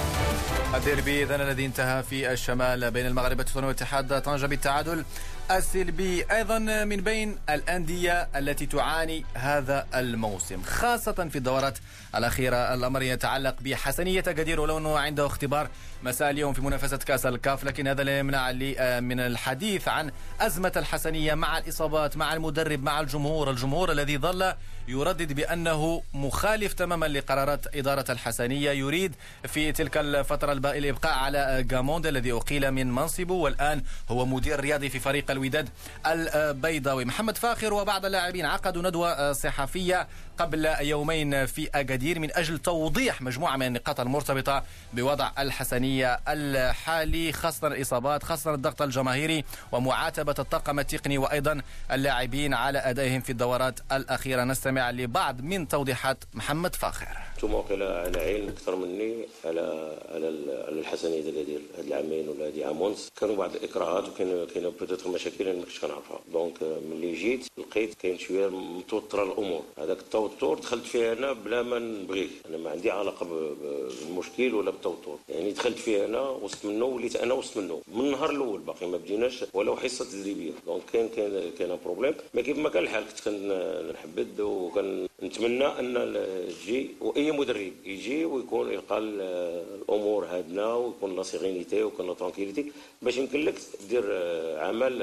الديربي إذن الذي انتهى في الشمال بين المغرب التطواني واتحاد طنجة بالتعادل السلبي. أيضا من بين الأندية التي تعاني هذا الموسم خاصة في الدورات الأخيرة، الأمر يتعلق بحسنية أكادير، ولو أنه عنده اختبار مساء اليوم في منافسة كأس الكاف، لكن هذا لا يمنع لي من الحديث عن أزمة الحسنية مع الإصابات، مع المدرب، مع الجمهور الجمهور الذي ظل يردد بأنه مخالف تماما لقرارات إدارة الحسنية، يريد في تلك الفترة الإبقاء على غاموند الذي أقيل من منصبه والآن هو مدير رياضي في فريق الوداد البيضاوي. محمد فاخر وبعض اللاعبين عقدوا ندوة صحفية قبل يومين في أكادير من أجل توضيح مجموعة من النقاط المرتبطة بوضع الحسنية الحالي، خاصة الإصابات، خاصة الضغط الجماهيري، ومعاتبة الطاقم التقني وأيضا اللاعبين على أدائهم في الدورات الأخيرة. نستمع لبعض من توضيحات محمد فاخر. انتم على علم اكثر مني على على على الحسنيه ديال هاد العامين ولا هادي عام ونص، كانوا بعض الاكراهات وكاين كاينه بوتيتر مشاكل انا ما كنتش كنعرفها، دونك ملي جيت لقيت كاين شويه متوتره الامور. هذاك التوتر دخلت فيه انا بلا ما نبغيه، انا ما عندي علاقه بالمشكل ولا بالتوتر، يعني دخلت فيه انا وسط منه وليت انا وسط منه من النهار الاول، باقي ما بديناش ولو حصه تدريبيه، دونك كاين كاين كاين بروبليم. ما كيف ما كان الحال كنت كنحبد وكنتمنى ان تجي واي مدرب يجي ويكون يلقى الامور هادنه ويكون لا سيرينيتي ويكون لا ترانكيليتي باش يمكن لك دير عمل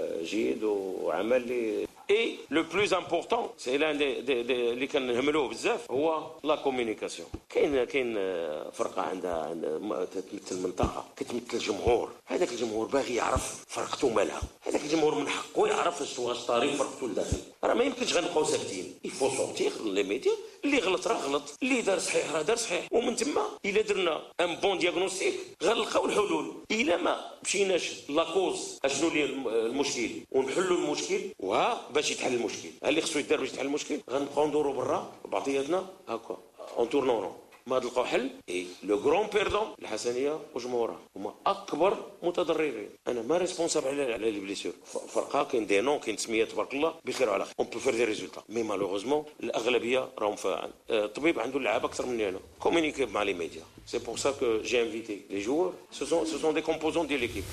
جيد وعمل اللي اي لو بلوز امبورطون سي لان اللي كنهملوه بزاف هو لا كومونيكاسيون. كاين كاين فرقه عندها تمثل منطقه كتمثل الجمهور، هذاك الجمهور باغي يعرف فرقته مالها، هذاك الجمهور من حقه يعرف واش طاري فرقته لداخل. راه ما يمكنش غنبقاو ساكتين، يفو سورتيغ لي ميديا، اللي غلط راه غلط، اللي دار صحيح راه دار صحيح، ومن تما الا درنا ان بون دياغنوستيك غنلقاو الحلول. الا ما مشيناش لاكوز اشنو اللي المشكل ونحلوا المشكل وها باش يتحل المشكل، ها اللي خصو يدار باش يتحل المشكل، غنبقاو ندوروا برا بعضياتنا هكا اون تورنون ما نلقاو حل. اي لو غران بيردون الحسنيه وجمهورها هما اكبر متضررين. انا ما ريسبونسابل على على لي بليسيور، فرقه كاين دي نون كاين تسميات تبارك الله بخير وعلى خير، اون بو فير دي ريزولتا مي مالوغوزمون الاغلبيه راهم فاعل. الطبيب عنده اللعابه اكثر مني انا، كومونيكي مع لي ميديا، سي بور سا كو جي انفيتي لي جوور، سو سون سو سون دي كومبوزون ديال ليكيب.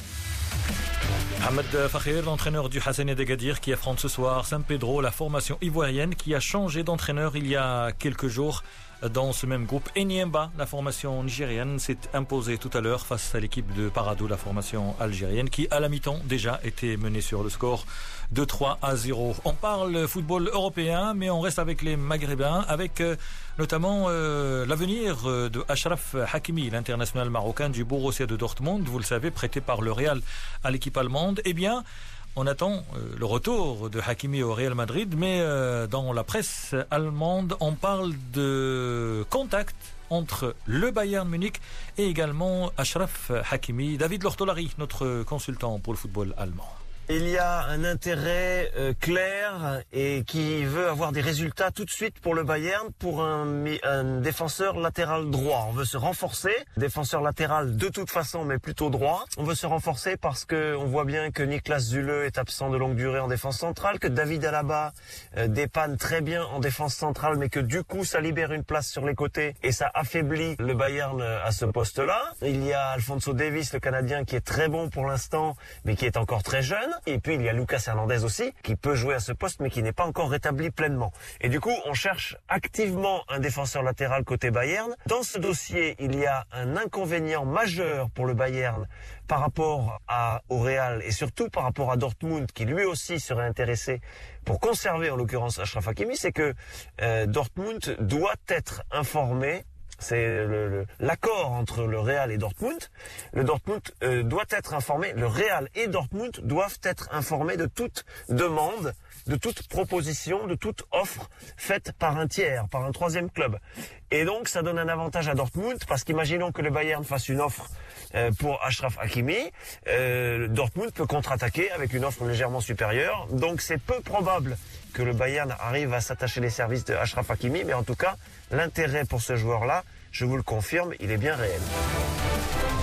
Mohamed Fakhir, l'entraîneur du Hassania d'Agadir qui affronte ce soir San Pedro, la formation ivoirienne qui a changé d'entraîneur il y a quelques jours dans ce même groupe. Enyemba, la formation nigérienne, s'est imposée tout à l'heure face à l'équipe de Paradou, la formation algérienne, qui à la mi-temps déjà était menée sur le score de trois à zéro. On parle football européen, mais on reste avec les Maghrébins, avec euh, notamment euh, l'avenir de Achraf Hakimi, l'international marocain du Borussia de Dortmund, vous le savez, prêté par le Real à l'équipe allemande. Eh bien, on attend euh, le retour de Hakimi au Real Madrid, mais euh, dans la presse allemande, on parle de contact entre le Bayern Munich et également Achraf Hakimi. David Lortolari, notre consultant pour le football allemand. Il y a un intérêt euh, clair et qui veut avoir des résultats tout de suite pour le Bayern, pour un, un défenseur latéral droit. On veut se renforcer, défenseur latéral de toute façon, mais plutôt droit. On veut se renforcer parce que on voit bien que Niklas Süle est absent de longue durée en défense centrale, que David Alaba euh, dépanne très bien en défense centrale, mais que du coup ça libère une place sur les côtés et ça affaiblit le Bayern à ce poste-là. Il y a Alphonso Davies, le Canadien, qui est très bon pour l'instant, mais qui est encore très jeune. Et puis il y a Lucas Hernandez aussi, qui peut jouer à ce poste, mais qui n'est pas encore rétabli pleinement. Et du coup, on cherche activement un défenseur latéral côté Bayern. Dans ce dossier, il y a un inconvénient majeur pour le Bayern par rapport à, au Real et surtout par rapport à Dortmund, qui lui aussi serait intéressé pour conserver en l'occurrence Achraf Hakimi, c'est que euh, Dortmund doit être informé. C'est l'accord entre le Real et Dortmund. Le Dortmund euh, doit être informé, le Real et Dortmund doivent être informés de toute demande, de toute proposition, de toute offre faite par un tiers, par un troisième club. Et donc ça donne un avantage à Dortmund, parce qu'imaginons que le Bayern fasse une offre euh, pour Achraf Hakimi, euh, Dortmund peut contre-attaquer avec une offre légèrement supérieure. Donc c'est peu probable que le Bayern arrive à s'attacher les services de Achraf Hakimi, mais en tout cas, l'intérêt pour ce joueur-là, je vous le confirme, il est bien réel.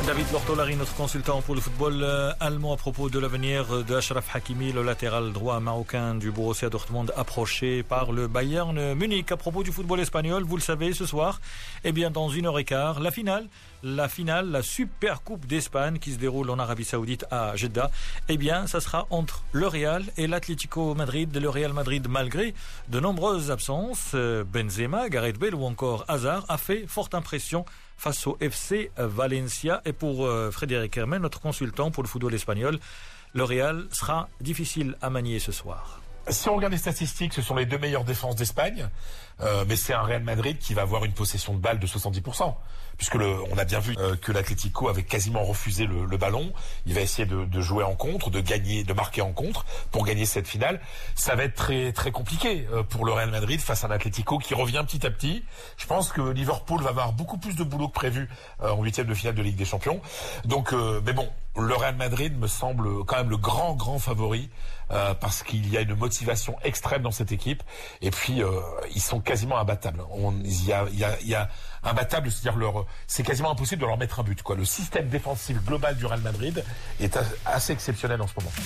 David Bortolari, notre consultant pour le football allemand à propos de l'avenir de Achraf Hakimi, le latéral droit marocain du Borussia Dortmund approché par le Bayern Munich. À propos du football espagnol, vous le savez, ce soir, eh bien dans une heure et quart, la finale, la finale, la Super Coupe d'Espagne qui se déroule en Arabie Saoudite à Jeddah, eh bien ça sera entre le Real et l'Atlético Madrid. Le Real Madrid, malgré de nombreuses absences, Benzema, Gareth Bale ou encore Hazard, a fait forte impression face au F C Valencia. Et pour euh, Frédéric Hermen, notre consultant pour le football espagnol, le Real sera difficile à manier ce soir. Si on regarde les statistiques, ce sont les deux meilleures défenses d'Espagne, euh, mais c'est un Real Madrid qui va avoir une possession de balle de soixante-dix pour cent. Puisque le, on a bien vu euh, que l'Atlético avait quasiment refusé le, le ballon. Il va essayer de, de jouer en contre, de gagner, de marquer en contre pour gagner cette finale. Ça va être très très compliqué euh, pour le Real Madrid face à un Atlético qui revient petit à petit. Je pense que Liverpool va avoir beaucoup plus de boulot que prévu euh, en huitième de finale de Ligue des Champions. Donc, euh, mais bon, le Real Madrid me semble quand même le grand grand favori euh, parce qu'il y a une motivation extrême dans cette équipe. Et puis euh, ils sont quasiment imbattables. On, il y a il y a il y a imbattables, c'est-à-dire leur, c'est quasiment impossible de leur mettre un but, quoi. Le système défensif global du Real Madrid est assez exceptionnel en ce moment.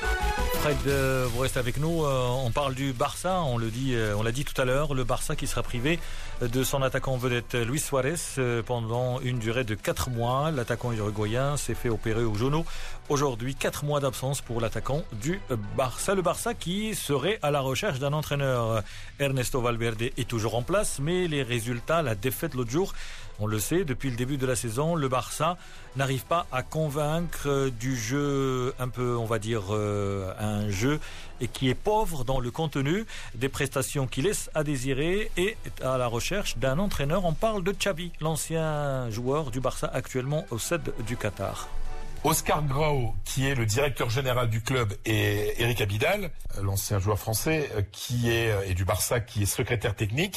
Fred, euh, vous restez avec nous. Euh, on parle du Barça, on le dit, euh, on l'a dit tout à l'heure, le Barça qui sera privé de son attaquant vedette Luis Suarez euh, pendant une durée de quatre mois. L'attaquant uruguayen s'est fait opérer au genou. Aujourd'hui, quatre mois d'absence pour l'attaquant du Barça. Le Barça qui serait à la recherche d'un entraîneur. Ernesto Valverde est toujours en place, mais les résultats, la défaite l'autre jour, on le sait, depuis le début de la saison, le Barça n'arrive pas à convaincre du jeu un peu, on va dire, euh, un jeu et qui est pauvre dans le contenu, des prestations qui laissent à désirer et à la recherche d'un entraîneur. On parle de Xavi, l'ancien joueur du Barça actuellement au C E D du Qatar. Oscar Grau, qui est le directeur général du club, et Eric Abidal, l'ancien joueur français, qui est et du Barça, qui est secrétaire technique,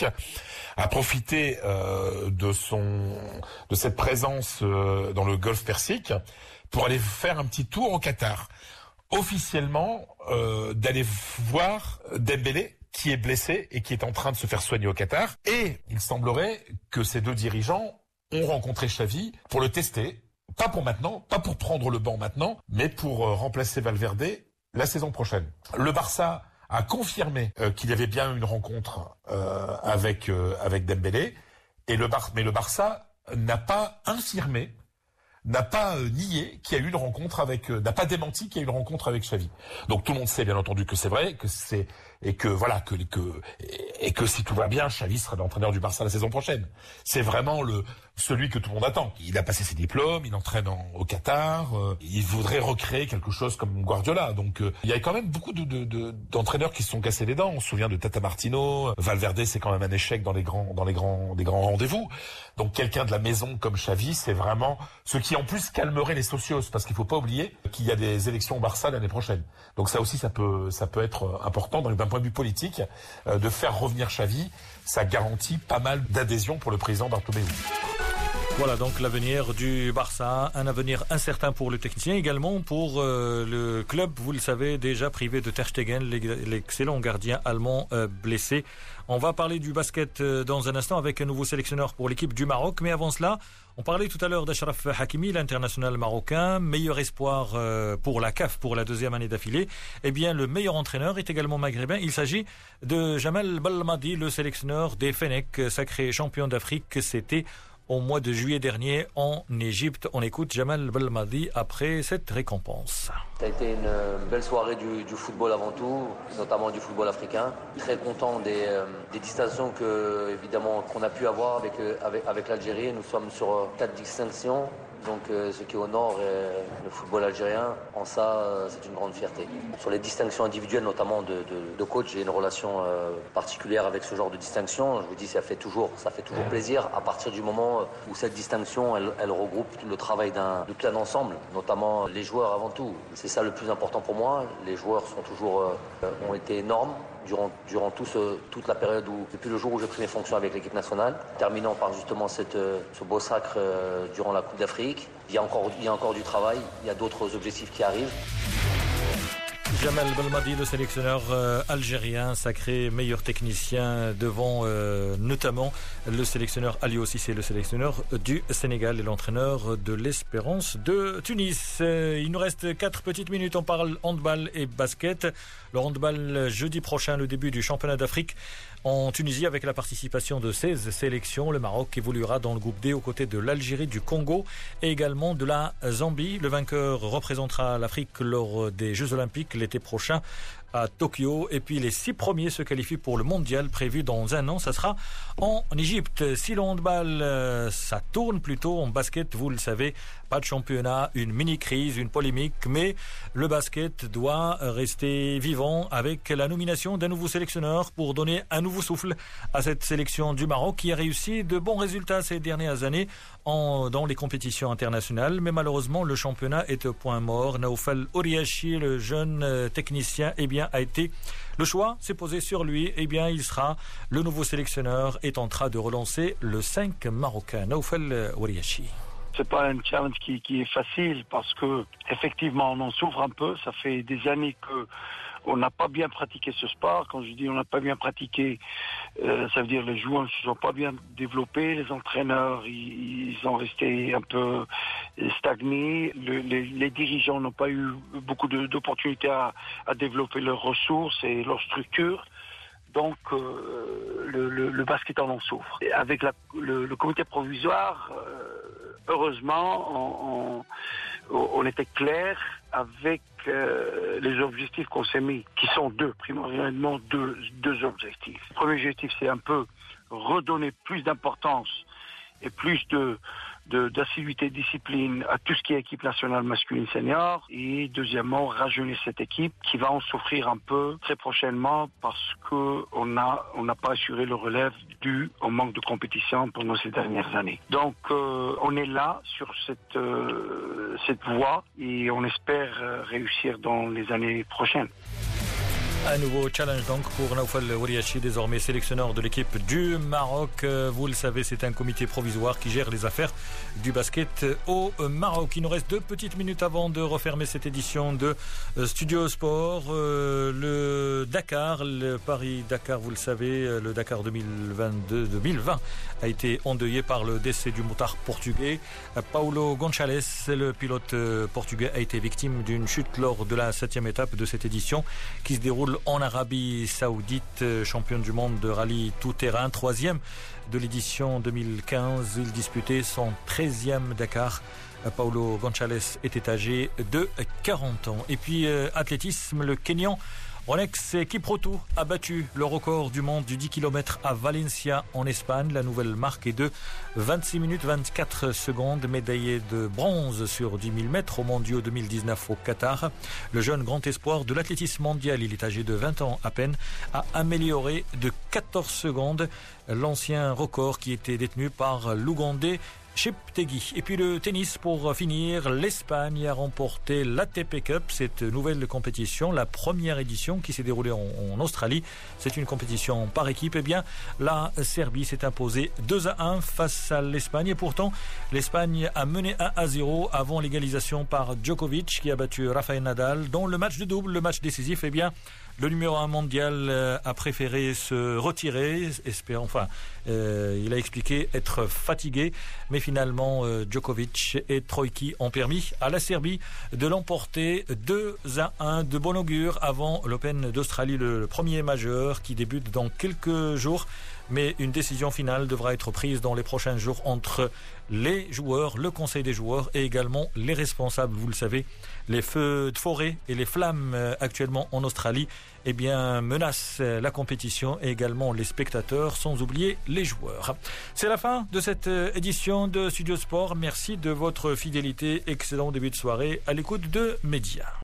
a profité euh, de son de cette présence euh, dans le Golfe Persique pour aller faire un petit tour au Qatar. Officiellement, euh, d'aller voir Dembélé, qui est blessé et qui est en train de se faire soigner au Qatar. Et il semblerait que ces deux dirigeants ont rencontré Xavi pour le tester. Pas pour maintenant, pas pour prendre le banc maintenant, mais pour euh, remplacer Valverde la saison prochaine. Le Barça a confirmé euh, qu'il y avait bien eu une rencontre euh, avec euh, avec Dembélé, et le Bar- mais le Barça n'a pas infirmé, n'a pas euh, nié qu'il y a eu une rencontre avec, euh, n'a pas démenti qu'il y a eu une rencontre avec Xavi. Donc tout le monde sait bien entendu que c'est vrai, que c'est et que voilà que que et que si tout va bien, Xavi sera l'entraîneur du Barça la saison prochaine. C'est vraiment le celui que tout le monde attend. Il a passé ses diplômes, il entraîne en, au Qatar, euh, il voudrait recréer quelque chose comme Guardiola. Donc euh, il y a quand même beaucoup de, de, de, d'entraîneurs qui se sont cassés les dents. On se souvient de Tata Martino, Valverde, c'est quand même un échec dans les grands dans les grands des grands rendez-vous. Donc quelqu'un de la maison comme Xavi, c'est vraiment ce qui en plus calmerait les socios, parce qu'il faut pas oublier qu'il y a des élections au Barça l'année prochaine. Donc ça aussi ça peut ça peut être important d'un point de vue politique euh, de faire revenir Xavi. Ça garantit pas mal d'adhésion pour le président Bartomeu. Voilà donc l'avenir du Barça, un avenir incertain pour le technicien, également pour euh, le club, vous le savez, déjà privé de Ter Stegen, l'excellent gardien allemand euh, blessé. On va parler du basket euh, dans un instant avec un nouveau sélectionneur pour l'équipe du Maroc, mais avant cela, on parlait tout à l'heure d'Achraf Hakimi, l'international marocain, meilleur espoir euh, pour la C A F pour la deuxième année d'affilée. Eh bien, le meilleur entraîneur est également maghrébin. Il s'agit de Jamal Belmadi, le sélectionneur des Fennecs, sacré champion d'Afrique. C'était au mois de juillet dernier en Égypte. On écoute Jamal Belmadi après cette récompense. Ça a été une belle soirée du, du football avant tout, notamment du football africain. Très content des, euh, des distinctions que, évidemment, qu'on a pu avoir avec, avec, avec l'Algérie. Nous sommes sur quatre distinctions. Donc euh, ce qui honore euh, le football algérien, en ça, euh, c'est une grande fierté. Sur les distinctions individuelles, notamment de, de, de coach, j'ai une relation euh, particulière avec ce genre de distinction. Je vous dis, ça fait toujours, ça fait toujours plaisir à partir du moment où cette distinction, elle, elle regroupe le travail d'un, de tout un ensemble, notamment les joueurs avant tout. C'est ça le plus important pour moi. Les joueurs sont toujours, euh, ont été énormes. Durant, durant tout ce, toute la période où, depuis le jour où j'ai pris mes fonctions avec l'équipe nationale, terminant par justement cette, ce beau sacre euh, durant la Coupe d'Afrique. Il y a encore, il y a encore du travail, il y a d'autres objectifs qui arrivent. Jamel Belmadi, le sélectionneur euh, algérien, sacré meilleur technicien devant euh, notamment le sélectionneur Aliou Cissé, le sélectionneur du Sénégal et l'entraîneur de l'Espérance de Tunis. Euh, il nous reste quatre petites minutes, on parle handball et basket. Le handball jeudi prochain, le début du championnat d'Afrique en Tunisie avec la participation de seize sélections. Le Maroc évoluera dans le groupe D aux côtés de l'Algérie, du Congo et également de la Zambie. Le vainqueur représentera l'Afrique lors des Jeux Olympiques l'été prochain à Tokyo. Et puis les six premiers se qualifient pour le mondial prévu dans un an. Ça sera en Égypte. Si le handball, euh, ça tourne plutôt en basket, vous le savez, pas de championnat, une mini-crise, une polémique, mais le basket doit rester vivant avec la nomination d'un nouveau sélectionneur pour donner un nouveau souffle à cette sélection du Maroc qui a réussi de bons résultats ces dernières années en, dans les compétitions internationales. Mais malheureusement, le championnat est au point mort. Naoufal Ouriachi, le jeune technicien, eh bien, a été le choix s'est posé sur lui. Eh bien, il sera le nouveau sélectionneur et tentera de relancer le cinq marocain. Naoufal Ouriachi. C'est pas un challenge qui, qui est facile parce que effectivement on en souffre un peu. Ça fait des années que on n'a pas bien pratiqué ce sport. Quand je dis on n'a pas bien pratiqué, euh, ça veut dire les joueurs ne se sont pas bien développés, les entraîneurs ils, ils ont resté un peu stagnés, le, les, les dirigeants n'ont pas eu beaucoup de, d'opportunités à, à développer leurs ressources et leurs structures. Donc euh, le, le, le basket en souffre. Et avec la, le, le comité provisoire, euh, heureusement, on, on, on était clair avec euh, les objectifs qu'on s'est mis, qui sont deux, primordialement deux, deux objectifs. Le premier objectif, c'est un peu redonner plus d'importance et plus de, de, d'assiduité, de discipline à tout ce qui est équipe nationale masculine senior. Et deuxièmement, rajeunir cette équipe qui va en souffrir un peu très prochainement parce qu'on n'a on n'a pas assuré le relève dû au manque de compétition pendant ces dernières années. Donc euh, on est là sur cette, euh, cette voie et on espère réussir dans les années prochaines. Un nouveau challenge donc pour Naoufal Ouriachi, désormais sélectionneur de l'équipe du Maroc. Vous le savez, c'est un comité provisoire qui gère les affaires du basket au Maroc. Il nous reste deux petites minutes avant de refermer cette édition de Studio Sport. Le Dakar, le Paris-Dakar, vous le savez, le Dakar deux mille vingt-deux deux mille vingt a été endeuillé par le décès du motard portugais. Paulo Gonçalves, le pilote portugais, a été victime d'une chute lors de la septième étape de cette édition qui se déroule en Arabie Saoudite, championne du monde de rallye tout-terrain, troisième de l'édition deux mille quinze. Il disputait son treizième Dakar. Paulo Gonçalves était âgé de quarante ans. Et puis, euh, athlétisme, le Kenyan Ronex Kiprutu a battu le record du monde du dix kilomètres à Valencia en Espagne. La nouvelle marque est de vingt-six minutes vingt-quatre secondes, médaillé de bronze sur dix mille mètres aux mondiaux deux mille dix-neuf au Qatar. Le jeune grand espoir de l'athlétisme mondial, il est âgé de vingt ans à peine, a amélioré de quatorze secondes l'ancien record qui était détenu par l'Ougandais Cheptegei. Et puis le tennis pour finir, l'Espagne a remporté l'A T P Cup, cette nouvelle compétition, la première édition qui s'est déroulée en, en Australie. C'est une compétition par équipe. Eh bien, la Serbie s'est imposée deux à un face à l'Espagne et pourtant l'Espagne a mené un à zéro avant l'égalisation par Djokovic qui a battu Rafael Nadal. Dans le match de double, le match décisif, eh bien le numéro un mondial a préféré se retirer, espérant, enfin, euh, il a expliqué être fatigué, mais finalement euh, Djokovic et Troïki ont permis à la Serbie de l'emporter deux à un de bon augure avant l'Open d'Australie, le, le premier majeur qui débute dans quelques jours. Mais une décision finale devra être prise dans les prochains jours entre les joueurs, le conseil des joueurs et également les responsables. Vous le savez, les feux de forêt et les flammes actuellement en Australie eh bien, menacent la compétition et également les spectateurs, sans oublier les joueurs. C'est la fin de cette édition de Studio Sport. Merci de votre fidélité. Excellent début de soirée à l'écoute de Média.